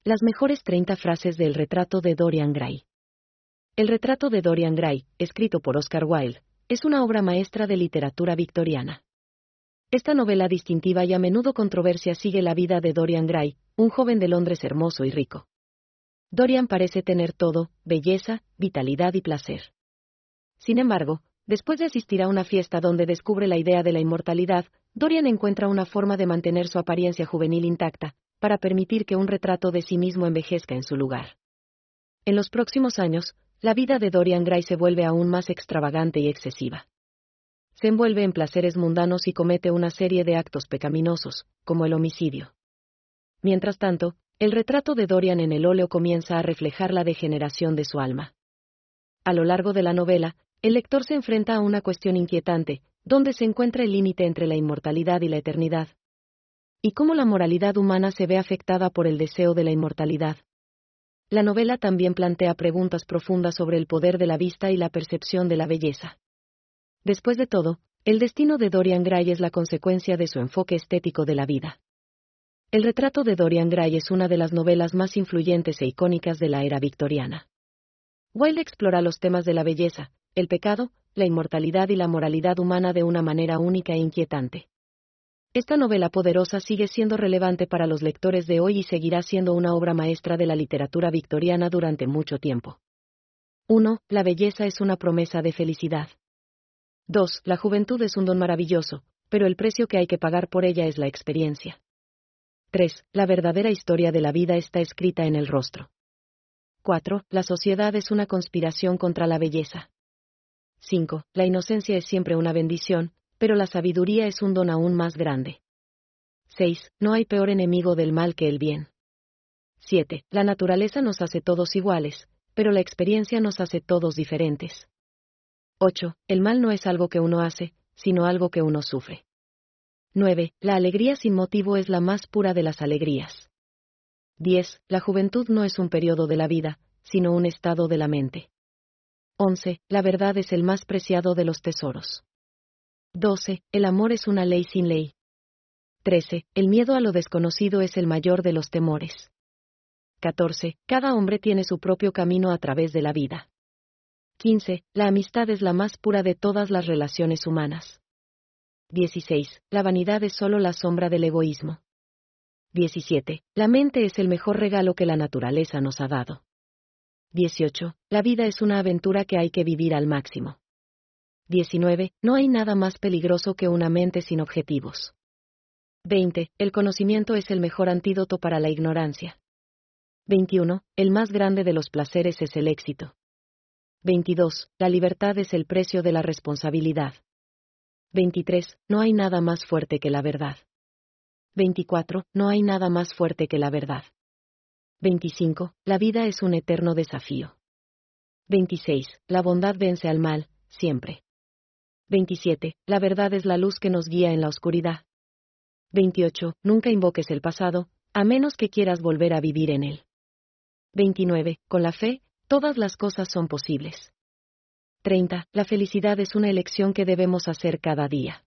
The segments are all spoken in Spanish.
Las mejores 30 frases del retrato de Dorian Gray. El retrato de Dorian Gray, escrito por Oscar Wilde, es una obra maestra de literatura victoriana. Esta novela distintiva y a menudo controversia sigue la vida de Dorian Gray, un joven de Londres hermoso y rico. Dorian parece tener todo, belleza, vitalidad y placer. Sin embargo, después de asistir a una fiesta donde descubre la idea de la inmortalidad, Dorian encuentra una forma de mantener su apariencia juvenil intacta, para permitir que un retrato de sí mismo envejezca en su lugar. En los próximos años, la vida de Dorian Gray se vuelve aún más extravagante y excesiva. Se envuelve en placeres mundanos y comete una serie de actos pecaminosos, como el homicidio. Mientras tanto, el retrato de Dorian en el óleo comienza a reflejar la degeneración de su alma. A lo largo de la novela, el lector se enfrenta a una cuestión inquietante, donde se encuentra el límite entre la inmortalidad y la eternidad. Y cómo la moralidad humana se ve afectada por el deseo de la inmortalidad. La novela también plantea preguntas profundas sobre el poder de la vista y la percepción de la belleza. Después de todo, el destino de Dorian Gray es la consecuencia de su enfoque estético de la vida. El retrato de Dorian Gray es una de las novelas más influyentes e icónicas de la era victoriana. Wilde explora los temas de la belleza, el pecado, la inmortalidad y la moralidad humana de una manera única e inquietante. Esta novela poderosa sigue siendo relevante para los lectores de hoy y seguirá siendo una obra maestra de la literatura victoriana durante mucho tiempo. 1. La belleza es una promesa de felicidad. 2. La juventud es un don maravilloso, pero el precio que hay que pagar por ella es la experiencia. 3. La verdadera historia de la vida está escrita en el rostro. 4. La sociedad es una conspiración contra la belleza. 5. La inocencia es siempre una bendición, pero la sabiduría es un don aún más grande. 6. No hay peor enemigo del mal que el bien. 7. La naturaleza nos hace todos iguales, pero la experiencia nos hace todos diferentes. 8. El mal no es algo que uno hace, sino algo que uno sufre. 9. La alegría sin motivo es la más pura de las alegrías. 10. La juventud no es un periodo de la vida, sino un estado de la mente. 11. La verdad es el más preciado de los tesoros. 12. El amor es una ley sin ley. 13. El miedo a lo desconocido es el mayor de los temores. 14. Cada hombre tiene su propio camino a través de la vida. 15. La amistad es la más pura de todas las relaciones humanas. 16. La vanidad es solo la sombra del egoísmo. 17. La mente es el mejor regalo que la naturaleza nos ha dado. 18. La vida es una aventura que hay que vivir al máximo. 19. No hay nada más peligroso que una mente sin objetivos. 20. El conocimiento es el mejor antídoto para la ignorancia. 21. El más grande de los placeres es el éxito. 22. La libertad es el precio de la responsabilidad. 23. No hay nada más fuerte que la verdad. 24. No hay nada más fuerte que la verdad. 25. La vida es un eterno desafío. 26. La bondad vence al mal, siempre. 27. La verdad es la luz que nos guía en la oscuridad. 28. Nunca invoques el pasado, a menos que quieras volver a vivir en él. 29. Con la fe, todas las cosas son posibles. 30. La felicidad es una elección que debemos hacer cada día.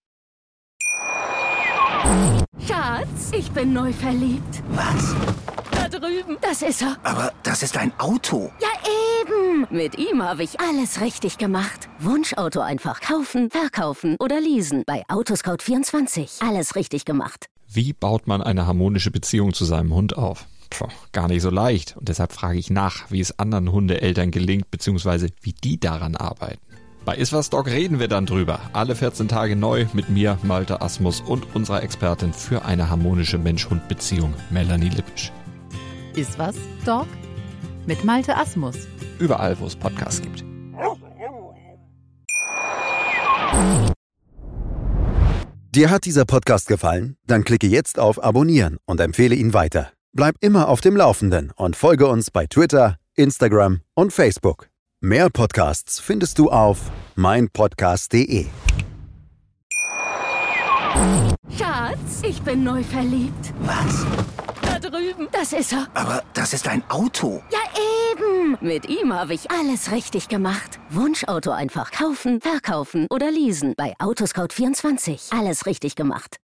Schatz, ich bin neu verliebt. Was? Da drüben. Das ist er. Aber das ist ein Auto. Ja, eben. Mit ihm habe ich alles richtig gemacht. Wunschauto einfach kaufen, verkaufen oder leasen. Bei Autoscout24. Alles richtig gemacht. Wie baut man eine harmonische Beziehung zu seinem Hund auf? Gar nicht so leicht. Und deshalb frage ich nach, wie es anderen Hundeeltern gelingt, beziehungsweise wie die daran arbeiten. Bei Iswas Dog reden wir dann drüber. Alle 14 Tage neu mit mir, Malte Asmus und unserer Expertin für eine harmonische Mensch-Hund-Beziehung, Melanie Lippisch. Iswas Dog mit Malte Asmus. Überall, wo es Podcasts gibt. Dir hat dieser Podcast gefallen? Dann klicke jetzt auf Abonnieren und empfehle ihn weiter. Bleib immer auf dem Laufenden und folge uns bei Twitter, Instagram und Facebook. Mehr Podcasts findest du auf meinpodcast.de. Schatz, ich bin neu verliebt. Was? Da drüben. Das ist er. Aber das ist ein Auto. Ja, eben. Mit ihm habe ich alles richtig gemacht. Wunschauto einfach kaufen, verkaufen oder leasen. Bei Autoscout24. Alles richtig gemacht.